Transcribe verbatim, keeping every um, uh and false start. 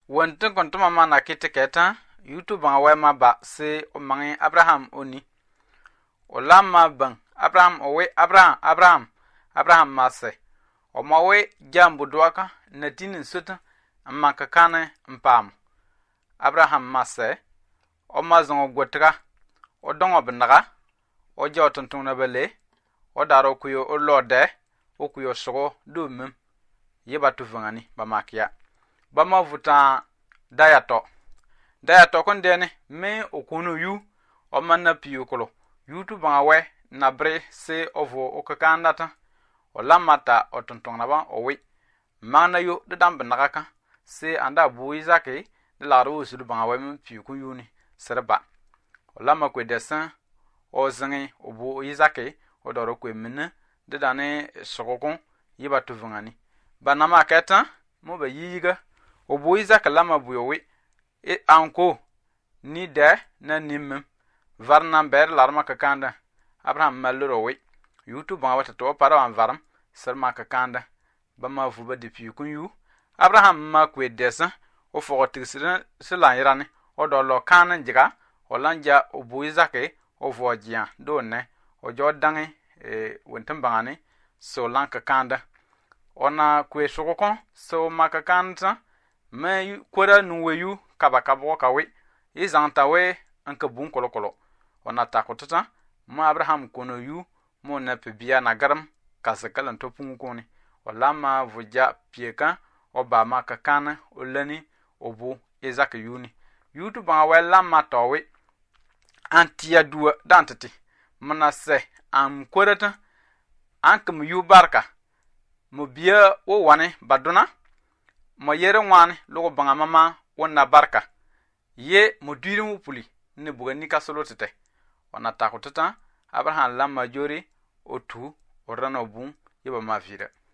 Wontin kontuma mana kiti keta YouTube nga wema ba se o mangi Abraham oni. O lamma bang Abraham owe Abraham Abraham Abraham mase. O mawe jambu dwaka na tinin suta amma kakane mpam. Abraham mase. O mazon gwotra. O dongo binaga. O jaw tonton na bele. O daro kuyo o lode. O kuyo sogo do mem. Yeba tuvangani ba makia. Bama vuta dayato dayato kon dene me okunu yu o manna piyukolo YouTube nga we na bre se ovo okakandata o lamata o tonton na ba o wi mana yu de dam benaka se anda bu izake de la ro su ba we me piyukun yuni serba o lama kwe desin o zingi o bu izake o doro kwe mine de dane sokokon yiba tuvungani banama keta mo ba yiga Obu Isaac lama buyowi e anko ni de na nimem varnan ber larma kakanda Abraham malorowi YouTube nga wata to para wan varam serma kakanda bama vuba de pikun yu Abraham ma kwe desa o fo tigsira sila irani o do lo kanan jiga o lanja Obu Isaac o vojian do ne o jodangi e wontan bangani so lan kakanda ona kwe sokokon so makakanda me kwara nuweyu kabakabo kawe izanta we anka bun kolokolo ona takotata ma Abraham kono yu mo na pebia na garam kasakalan to pungkoni wala ma vuja pieka oba ma kakana olani obu Isaac yuni yutu ba wala ma towe antia duwa dantati mana se am kwarata ankam yu barka mo bia wo wane baduna mo yere wan logo banga mama wonna barka ye mo duirin wupuli ne bugani ka solo tete wana takotata Abraham lamma jori otu orana bun yeba mafira